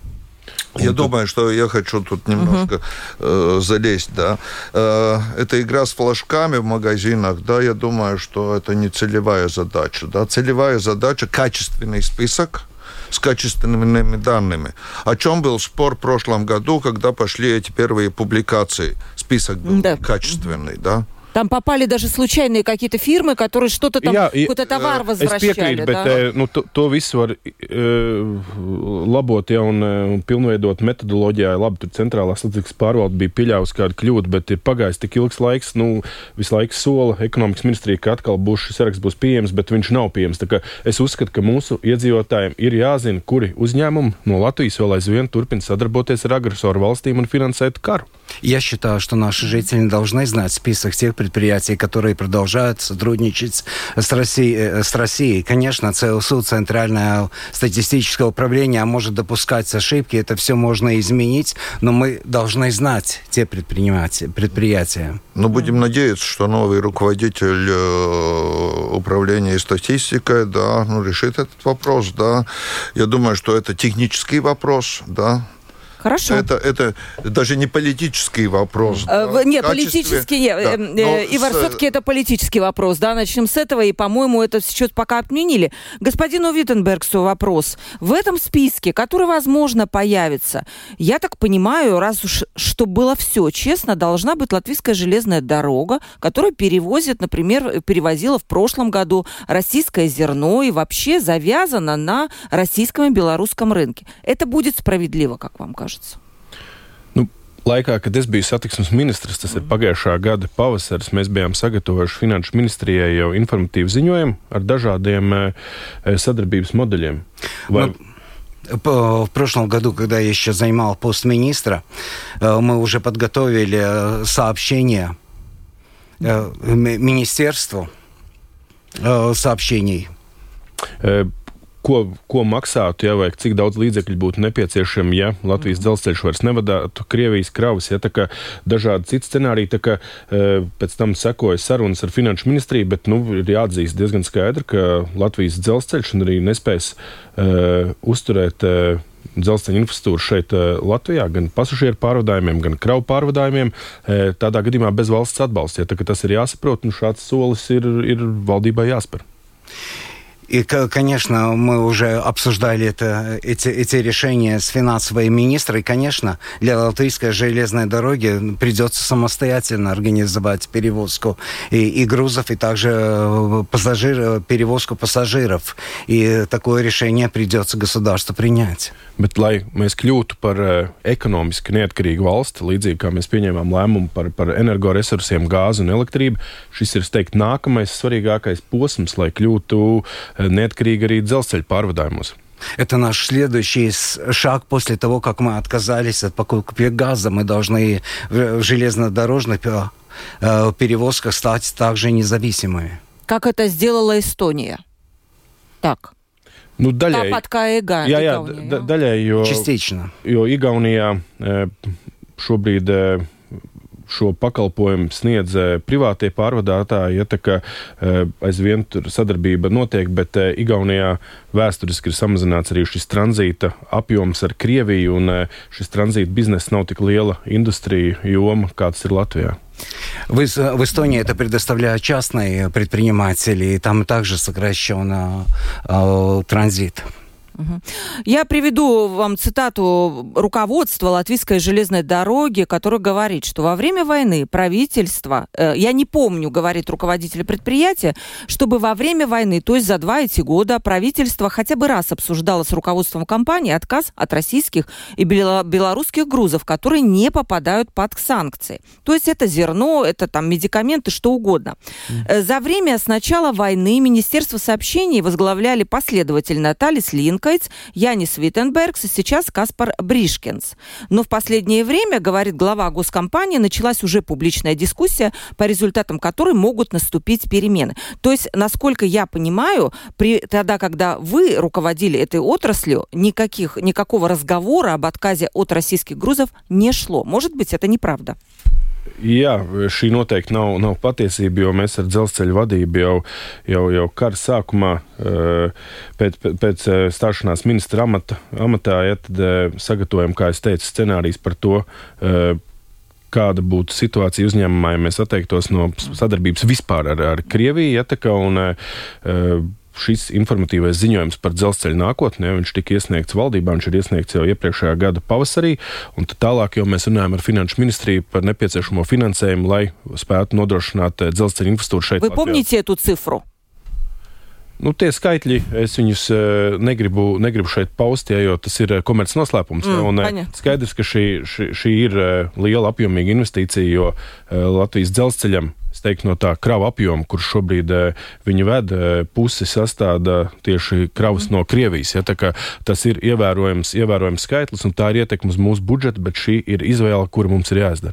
Я думаю, что я хочу тут немножко uh-huh. э, залезть, да. Э, это игра с флажками в магазинах, да, я думаю, что это не целевая задача, да. Целевая задача – качественный список с качественными данными. О чем был спор в прошлом году, когда пошли эти первые публикации? Список был да. качественный, да. Там попали даже случайные какие-то фирмы, которые что-то там, Jā, какой-то товар возвращали. Es piekrītu, да? bet nu, to, to visu var uh, labot, ja, un, un pilnveidot metodoloģijā. Labi, tur centrālā statistikas pārvalde bija pieļāvusi kādu kļūdu, bet ir pagājis tik ilgs laiks, nu, visu laiku sola ekonomikas ministrija, ka atkal būs šis saraksts būs pieejams, bet viņš nav pieejams. Tā kā es uzskatu, ka mūsu iedzīvotājiem ir jāzina, kuri uzņēmumi no Latvijas vēl aizvien turpina sadarboties ar agresoru valstīm un finansēt karu. Я считаю, что наши жители должны знать список тех предприятий, которые продолжают сотрудничать с Россией. С Россией. Конечно, ЦСУ, Центральное статистическое управление, может допускать ошибки, это все можно изменить, но мы должны знать те предприятия. Ну, будем надеяться, что новый руководитель управления статистикой, да, ну, решит этот вопрос, да. Я думаю, что это технический вопрос, да. Хорошо. Это, это даже не политический вопрос. Э, да, нет, политический нет. Да. Э, Ивар, с... все-таки это политический вопрос. Да? Начнем с этого, и, по-моему, это сейчас пока отменили. Господину Виттенбергсу вопрос. В этом списке, который, возможно, появится, я так понимаю, раз уж чтобы было все честно, должна быть Латвийская железная дорога, которая перевозит, например, перевозила в прошлом году российское зерно и вообще завязана на российском и белорусском рынке. Это будет справедливо, как вам кажется? Nu, laikā, kad es biju satiksmes ministrs, tas ir pagājušā gada pavasaris, mēs bijām sagatavojuši Finanšu ministrijai jau informatīvu ziņojumu ar dažādiem e, sadarbības modeļiem. Vai... В прошлом году, когда я еще занимал пост министра, мы уже подготовили сообщение министерству сообщений. Ko, ko maksātu, ja, vai cik daudz līdzekļu būtu nepieciešami, ja Latvijas dzelzceļš vairs nevadātu Krievijas kravas, ja tā kā dažādi citi scenāriji, tā kā e, pēc tam sekoja sarunas ar Finanšu ministriju, bet, nu, ir jāatzīst diezgan skaidri, ka Latvijas dzelzceļš un arī nespēs e, uzturēt e, dzelzceļa infrastruktūru šeit e, Latvijā, gan pasažieru pārvadājumiem, gan kravu pārvadājumiem, e, tādā gadījumā bez valsts atbalsta, ja, tā kā tas ir jāsaprot, un šāds solis ir, ir valdībai jāspēr. И, конечно, мы уже обсуждали это, эти, эти решения с финансовой министром. И, конечно, для Латвийской железной дороги придется самостоятельно организовать перевозку и, и грузов, и также пассажир, перевозку пассажиров. И такое решение придется государству принять. Bet, lai mēs kļūtu par uh, ekonomiski neatkarīgu valsti, līdzīgi kā mēs pieņēmām lēmumu par, par energoresursiem, gāzi un elektrību, šis ir, es teiktu, nākamais svarīgākais posms, lai kļūtu uh, неоткрīgi arī dzelzceļa pārvadājumos. Это наш следующий шаг после того, как мы отказались от покупки газа. Мы должны в железнодорожных перевозках стать также независимыми. Как это сделала Эстония? Так. Nu, daļai, Tāpat kā Ega, jā, jā, Igaunija. Da, daļai, jo, Частично. Jo Igaunijā šobrīd šo pakalpojumu sniedz privātie pārvadātāji, ja tā kā aizvien tur sadarbība notiek, bet Igaunijā vēsturiski ir samazināts arī šis tranzīta apjoms ar Krieviju, un šis tranzīta bizness nav tik liela industrija joma, kā tas ir Latvijā. В, в Эстонии это предоставляют частные предприниматели, и там также сокращен э, транзит. Я приведу вам цитату руководства Латвийской железной дороги, которое говорит, что во время войны правительство, э, я не помню, говорит руководитель предприятия, чтобы во время войны, то есть за два эти года, правительство хотя бы раз обсуждало с руководством компании отказ от российских и белорусских грузов, которые не попадают под санкции. То есть это зерно, это там медикаменты, что угодно. Mm. За время с начала войны Министерство сообщений возглавляли последовательно Талис Линка, Янис Виттенбергс и сейчас Каспар Бришкенс. Но в последнее время, говорит глава госкомпании, началась уже публичная дискуссия, по результатам которой могут наступить перемены. То есть, насколько я понимаю, при, тогда, когда вы руководили этой отраслью, никаких, никакого разговора об отказе от российских грузов не шло. Может быть, это неправда? Jā, šī noteikti nav, nav patiesība, jo mēs ar dzelzceļa vadību jau, jau, jau kara sākumā, pēc, pēc stāšanās ministra amata, amatā, ja, tad sagatavojam, kā es teicu, scenārijus par to, kāda būtu situācija uzņēmumā, ja mēs atteiktos no sadarbības vispār ar, ar Krieviju, ja, tā kā, un šis informatīvais ziņojums par dzelzceļa nākotnē, viņš tika iesniegts valdībā, viņš ir iesniegts jau iepriekšējā gada pavasarī, un tad tālāk jau mēs runājam ar Finanšu ministriju par nepieciešamo finansējumu, lai spētu nodrošināt dzelzceļa infrastruktūru šeit Вы Latvijā. помните эту цифру? Nu, tie skaitļi, es viņus negribu, negribu šeit paust, ja, jo tas ir komerces noslēpums. Mm, un paņa. Skaidrs, ka šī, šī, šī ir liela apjomīga investīcija, jo Latvijas dzelzceļam, es teiktu, no tā krava apjoma, kurš šobrīd viņi ved, pusi sastāda tieši kravas no Krievijas. Ja, tā kā tas ir ievērojams, ievērojams skaitlis, un tā ir ietekme uz mūsu budžetu, bet šī ir izvēle, kura mums ir jāizdara.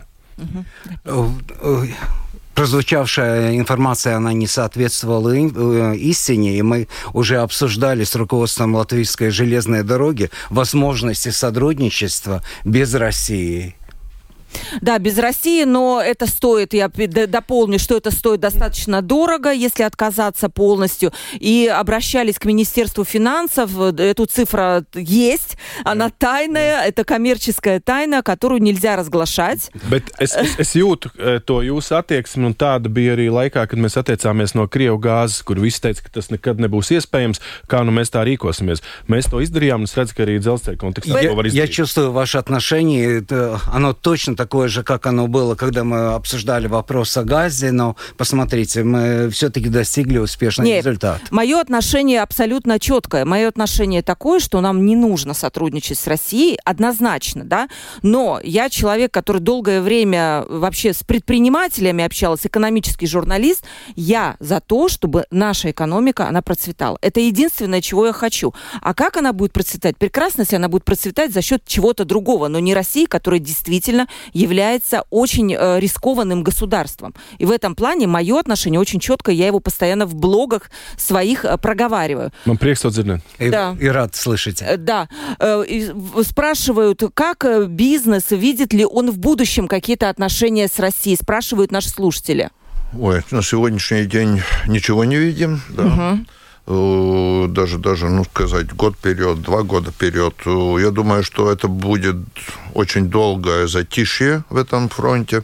Mm-hmm. Прозвучавшая информация, она не соответствовала истине, и мы уже обсуждали с руководством Латвийской железной дороги возможности сотрудничества без России. Да, без России, но это стоит, я дополню, что это стоит достаточно дорого, если отказаться полностью. И обращались к Министерству финансов, эту цифру есть, она тайная, это коммерческая тайна, которую нельзя разглашать. Bet es, es, es jūtu to jūsu attieksmi, un tāda bija arī laikā, kad mēs attiecāmies no Krievu gāzes, kur visi teica, ka tas nekad nebūs iespējams, kā nu mēs tā rīkosimies. Mēs to izdarījām, un es redzu, ka arī dzelzceļa kontekstā to var izdarīt. Я чувствую ваше отношение, это, оно точно такое же, как оно было, когда мы обсуждали вопрос о газе, но посмотрите, мы все-таки достигли успешного Нет, результата. Мое отношение абсолютно четкое. Мое отношение такое, что нам не нужно сотрудничать с Россией, однозначно, да, но я человек, который долгое время вообще с предпринимателями общалась, экономический журналист, я за то, чтобы наша экономика, она процветала. Это единственное, чего я хочу. А как она будет процветать? Прекрасно, если она будет процветать за счет чего-то другого, но не России, которая действительно является очень э, рискованным государством. И в этом плане мое отношение очень четкое, я его постоянно в блогах своих э, проговариваю. Man prieks to dzirdēt. И, да. и рад слышать. Э, да. Э, и спрашивают, как бизнес, видит ли он в будущем какие-то отношения с Россией, спрашивают наши слушатели. Ой, на сегодняшний день ничего не видим, да. Угу. Даже, даже, ну, сказать, год вперед, два года вперед. Я думаю, что это будет очень долгое затишье в этом фронте.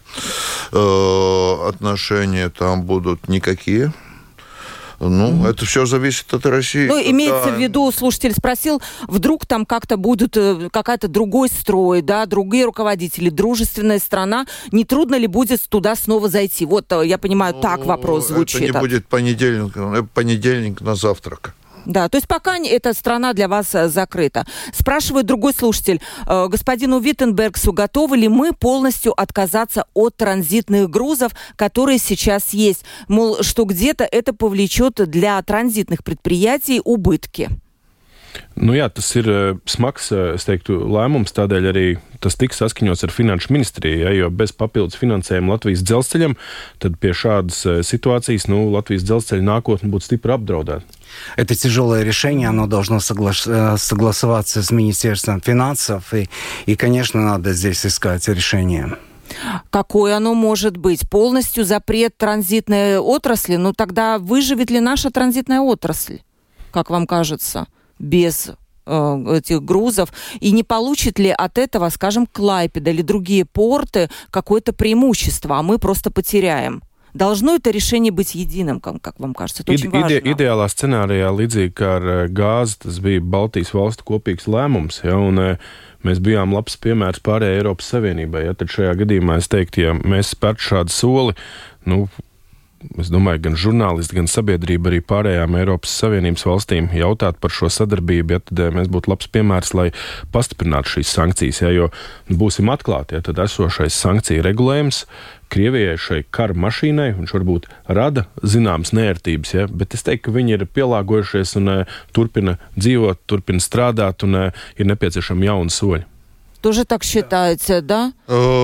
Отношения там будут никакие. Ну, mm-hmm. это все зависит от России. Ну, имеется да. в виду, слушатель спросил, вдруг там как-то будет какая-то другой строй, да, другие руководители, дружественная страна, не трудно ли будет туда снова зайти? Вот, я понимаю, ну, так вопрос звучит. Это не будет понедельник, понедельник на завтрак. Да, то есть пока эта страна для вас закрыта. Спрашивает другой слушатель, господину Виттенбергсу, готовы ли мы полностью отказаться от транзитных грузов, которые сейчас есть? Мол, что где-то это повлечет для транзитных предприятий убытки. Nu jā, tas ir smags, es teiktu, lēmums, tādēļ arī tas tiks saskaņots ar Finanšu ministriju, ja, jo bez papildus finansējuma Latvijas dzelzceļam, tad pie šādas situācijas, nu, Latvijas dzelzceļa nākotne būtu stipri apdraudēta. Это тяжелое решение, оно должно согла- согласоваться с Министерством финансов, и, и, конечно, надо здесь искать решение. Какое оно может быть? Полностью запрет транзитной отрасли? Ну, тогда выживет ли наша транзитная отрасль, как вам кажется? Без э, этих грузов, и не получит ли от этого, скажем, Клайпеда или другие порты какое-то преимущество, а мы просто потеряем? Должно это решение быть единым, как, как вам кажется? Это очень важно. Ide, ideālā scenārijā, līdzīgi kā ar gāzi, tas bija Baltijas valstu kopīgs lēmums, ja, un mēs bijām labs piemērs pārējai Eiropas Savienībai. Ja, tad šajā gadījumā es teiktu, ja mēs spērtu šādu soli, nu, es domāju, gan žurnālisti, gan sabiedrība arī pārējām Eiropas Savienības valstīm jautāt par šo sadarbību, ja tad mēs būtu labs piemērs, lai pastiprinātu šīs sankcijas, ja, jo būsim atklāti, ja tad esošais sankciju regulējums Krievijai šai kara mašīnai, viņš varbūt rada zināmas neērtības, ja, bet es teiktu, ka viņi ir pielāgojušies un uh, turpina dzīvot, turpina strādāt un uh, ir nepieciešami jauni soļi. Тоже так считаете, да?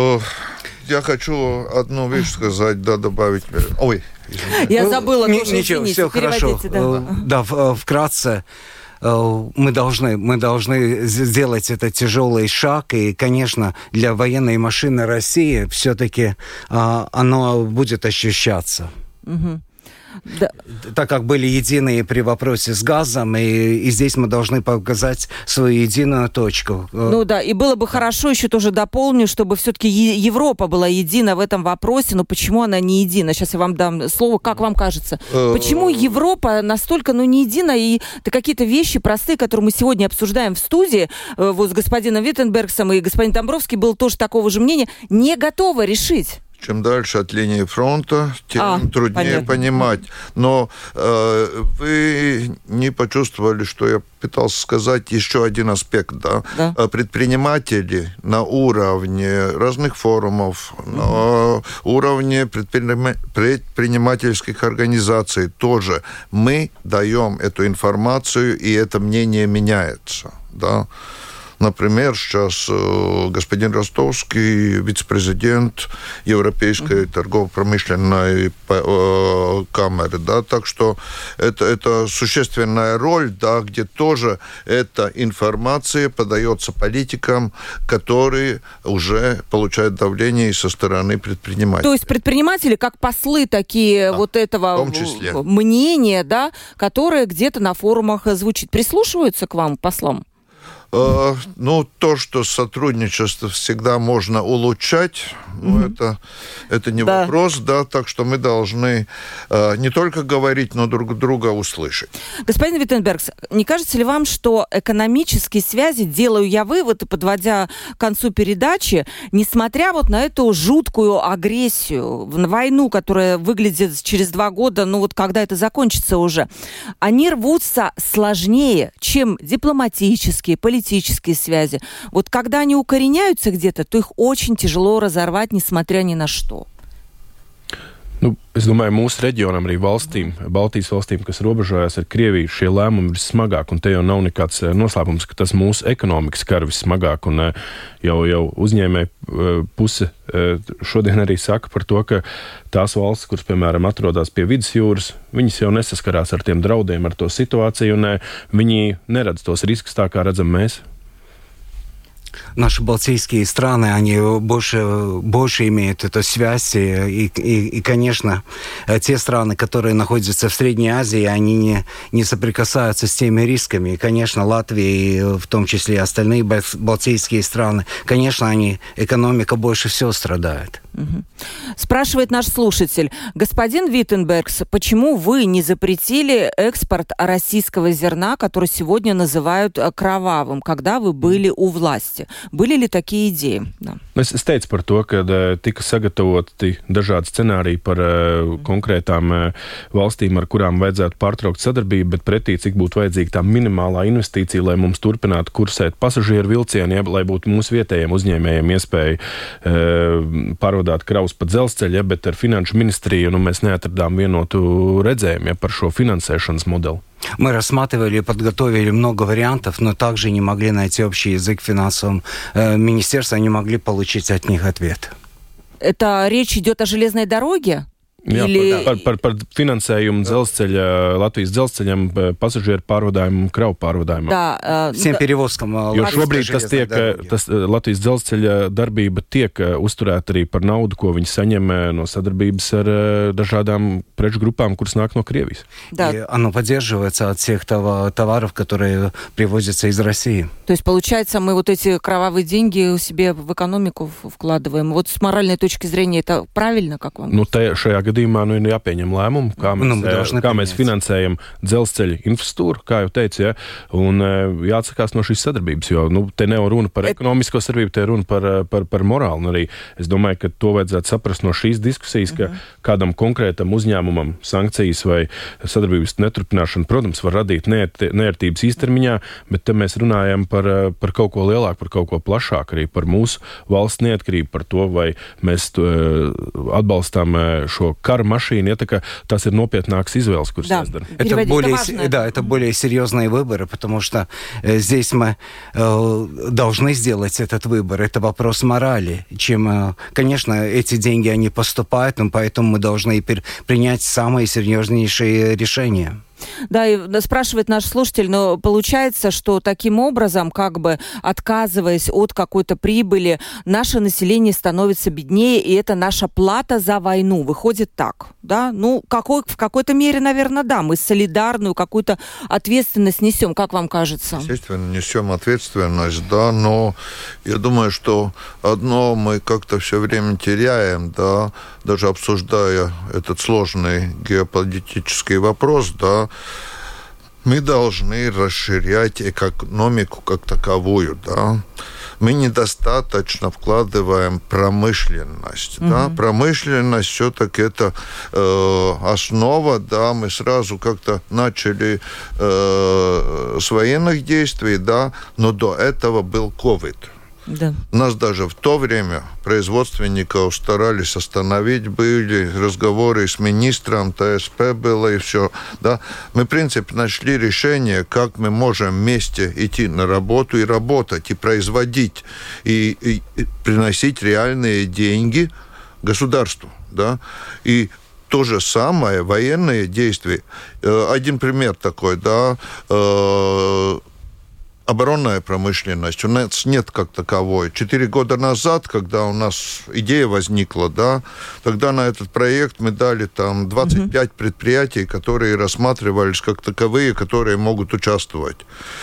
Я хочу одну вещь сказать, да, добавить. Ой, извините. Я забыла, ну, тоже, ничего, извините, все хорошо. Да, да, вкратце. Мы должны, мы должны сделать этот тяжелый шаг, и, конечно, для военной машины России все-таки а, оно будет ощущаться. Угу. Да. Так как были единые при вопросе с газом, и, и здесь мы должны показать свою единую точку. Ну да, и было бы хорошо, еще тоже дополню, чтобы все-таки Европа была едина в этом вопросе, но почему она не едина? Сейчас я вам дам слово, как вам кажется? Почему Европа настолько, ну, не едина, и какие-то вещи простые, которые мы сегодня обсуждаем в студии, вот с господином Виттенбергсом и господин Домбровский был тоже такого же мнения, не готова решить? Чем дальше от линии фронта, тем а, труднее понятно. Понимать. Но э, вы не почувствовали, что я пытался сказать еще один аспект. Да? Да. Предприниматели на уровне разных форумов, угу. на уровне предпринима- предпринимательских организаций тоже. Мы даем эту информацию, и это мнение меняется. Да? Например, сейчас господин Ростовский, вице-президент Европейской mm-hmm. торгово-промышленной камеры, да, так что это, это существенная роль, да, где тоже эта информация подается политикам, которые уже получают давление и со стороны предпринимателей. То есть предприниматели как послы такие, да, вот этого мнения, да, которое где-то на форумах звучит. Прислушиваются к вам, послам? Uh, ну, то, что сотрудничество всегда можно улучшать, mm-hmm. ну, это, это не да. вопрос, да, так что мы должны uh, не только говорить, но друг друга услышать. Господин Виттенбергс, не кажется ли вам, что экономические связи, делаю я вывод, и подводя к концу передачи, несмотря вот на эту жуткую агрессию, на войну, которая выглядит через два года, ну вот когда это закончится уже, они рвутся сложнее, чем дипломатические, политические, политические связи. Вот когда они укореняются где-то, то их очень тяжело разорвать, несмотря ни на что. Nu, es domāju, mūsu reģionam, arī valstīm, Baltijas valstīm, kas robežojas ar Krieviju, šie lēmumi ir smagāk, un te jau nav nekāds noslēpums, ka tas mūsu ekonomikas kar vissmagāk, un jau, jau uzņēmēji puse šodien arī saka par to, ka tās valstis, kuras, piemēram, atrodas pie vidusjūras, viņas jau nesaskarās ar tiem draudiem, ar to situāciju, un viņi neredz tos riskus tā, kā redzam mēs. Наши балтийские страны, они больше, больше имеют эту связь. И, и, и, конечно, те страны, которые находятся в Средней Азии, они не, не соприкасаются с теми рисками. И, конечно, Латвия, в том числе и остальные балтийские страны, конечно, они, экономика больше всего страдает. Угу. Спрашивает наш слушатель. Господин Виттенбергс, почему вы не запретили экспорт российского зерна, который сегодня называют кровавым, когда вы были у власти? Были ли такие идеи? Да. Es, es teicu par to, ka uh, tika sagatavoti dažādi scenāriji par uh, konkrētām uh, valstīm, ar kurām vajadzētu pārtraukt sadarbību, bet pretī, cik būtu vajadzīga tā minimālā investīcija, lai mums turpinātu kursēt pasažieru vilcieni, ja, lai būtu mūsu vietējiem uzņēmējiem iespēja uh, pārvadāt kravus pa dzelzceļu, ja, bet ar finanšu ministriju nu, mēs neatradām vienotu redzējumu, ja, par šo finansēšanas modeli. Мы рассматривали и подготовили много вариантов, но также не могли найти общий язык в финансовом э, министерстве, не могли получить от них ответ. Это речь идет о железной дороге? Jā, Или... par, par, par finansējumu dzelzceļa, Latvijas dzelzceļam, pasažieru pārvadājumu, kravu pārvadājumu. Да, Всем перевозкам. Jo šobrīd tas tiek, tas Latvijas dzelzceļa darbība tiek uzturēta arī par naudu, ko viņi saņem no sadarbības ar dažādām preču группām, kuras nāk no Krievijas. Да. И оно поддерживается от всех товаров, которые привозятся из России. То есть, получается, мы вот эти кровавые деньги себе в экономику вкладываем. Вот с моральной точки зрения это правильно, как вам? Nu, te, šajā gadījumā nu, ir jāpieņem lēmumu, kā mēs, nu, kā mēs finansējam dzelzceļa infrastruktūru, kā jau teicu, ja, un jāatsakās no šīs sadarbības, jo nu, te nav runa par ekonomisko sadarbību, te runa par, par, par morālu. Un arī es domāju, ka to vajadzētu saprast no šīs diskusijas, ka mm-hmm. kādam konkrētam uzņēmumam sankcijas vai sadarbības neturpināšana, protams, var radīt neērtības īstermiņā, bet te mēs runājam par, par kaut ko lielāku, par kaut ko plašāku, arī par mūsu valsts neatkarību, par to, vai mēs atbalstām šo кара машины, это tas ir nopietnāks izvēles, kuras да. jāizdara. Это более, да, это более серьезные выборы, потому что э, здесь мы э, должны сделать этот выбор. Это вопрос морали. Чем, э, конечно, эти деньги, они поступают, но поэтому мы должны принять самые серьезнейшие решения. Да, и спрашивает наш слушатель, но получается, что таким образом, как бы отказываясь от какой-то прибыли, наше население становится беднее, и это наша плата за войну. Выходит так, да? Ну, какой, в какой-то мере, наверное, да, мы солидарную какую-то ответственность несем, как вам кажется? Естественно, несем ответственность, да, но я думаю, что одно мы как-то все время теряем, да, даже обсуждая этот сложный геополитический вопрос, да, мы должны расширять экономику как таковую, да. Мы недостаточно вкладываем промышленность, mm-hmm. да. Промышленность все-таки это э, основа, да. Мы сразу как-то начали э, с военных действий, да, но до этого был ковид. Да. Нас даже в то время производственников старались остановить, были разговоры с министром, ТСП было и все. Да? Мы, в принципе, нашли решение, как мы можем вместе идти на работу и работать, и производить, и, и, и приносить реальные деньги государству. Да? И то же самое, военные действия. Один пример такой, да, оборонная промышленность. У нас нет как таковой. Четыре года назад, когда у нас идея возникла, да, тогда на этот проект мы дали там двадцать пять mm-hmm. предприятий, которые рассматривались как таковые, которые могут участвовать.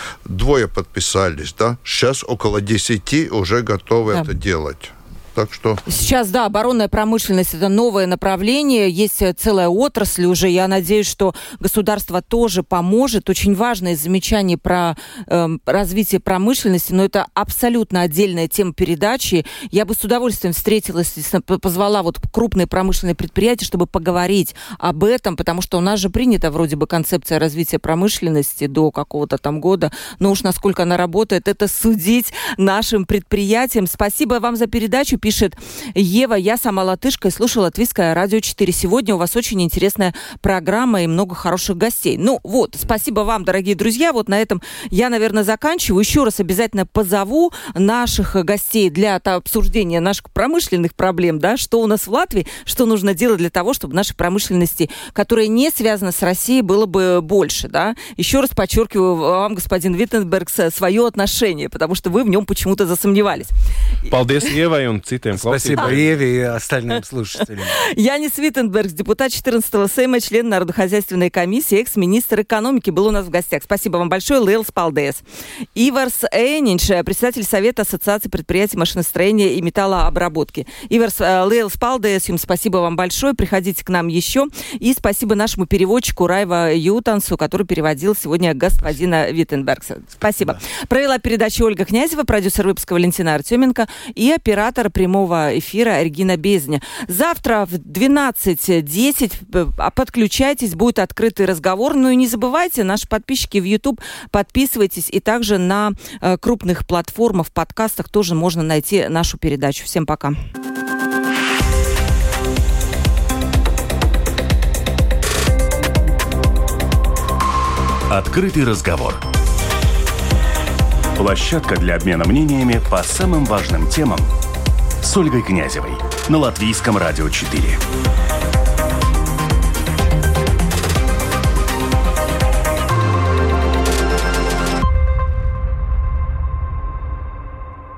Двое подписались, да. Сейчас около десяти уже готовы yeah. это делать. Так что... Сейчас, да, оборонная промышленность – это новое направление, есть целая отрасль уже. Я надеюсь, что государство тоже поможет. Очень важное замечание про э, развитие промышленности, но это абсолютно отдельная тема передачи. Я бы с удовольствием встретилась, позвала вот крупные промышленные предприятия, чтобы поговорить об этом, потому что у нас же принята вроде бы концепция развития промышленности до какого-то там года, но уж насколько она работает, это судить нашим предприятиям. Спасибо вам за передачу. Пишет Ева, я сама латышка и слушаю Латвийское радио четыре. Сегодня у вас очень интересная программа и много хороших гостей. Ну вот, спасибо вам, дорогие друзья. Вот на этом я, наверное, заканчиваю. Еще раз обязательно позову наших гостей для обсуждения наших промышленных проблем, да, что у нас в Латвии, что нужно делать для того, чтобы нашей промышленности, которая не связана с Россией, было бы больше, да. Еще раз подчеркиваю вам, господин Виттенберг, свое отношение, потому что вы в нем почему-то засомневались. Paldies, Евai, un Спасибо Еве и остальным слушателям. Янис Виттенбергс, депутат четырнадцатого Сейма, член Народохозяйственной комиссии, экс-министр экономики, был у нас в гостях. Спасибо вам большое. Лейлс Палдес. Иварс Эйнинш, председатель Совета Ассоциации предприятий машиностроения и металлообработки. Иварс Лейлс Палдес, им спасибо вам большое. Приходите к нам еще. И спасибо нашему переводчику Райва Ютансу, который переводил сегодня господина Виттенбергса. Спасибо. Да. Провела передачу Ольга Князева, продюсер выпуска Валентина Артеменко и оператор прямого эфира Регина Безня. Завтра в двенадцать десять подключайтесь, будет открытый разговор. Ну и не забывайте, наши подписчики в YouTube, подписывайтесь. И также на э, крупных платформах, подкастах тоже можно найти нашу передачу. Всем пока. Открытый разговор. Площадка для обмена мнениями по самым важным темам с Ольгой Князевой на Латвийском радио четыре.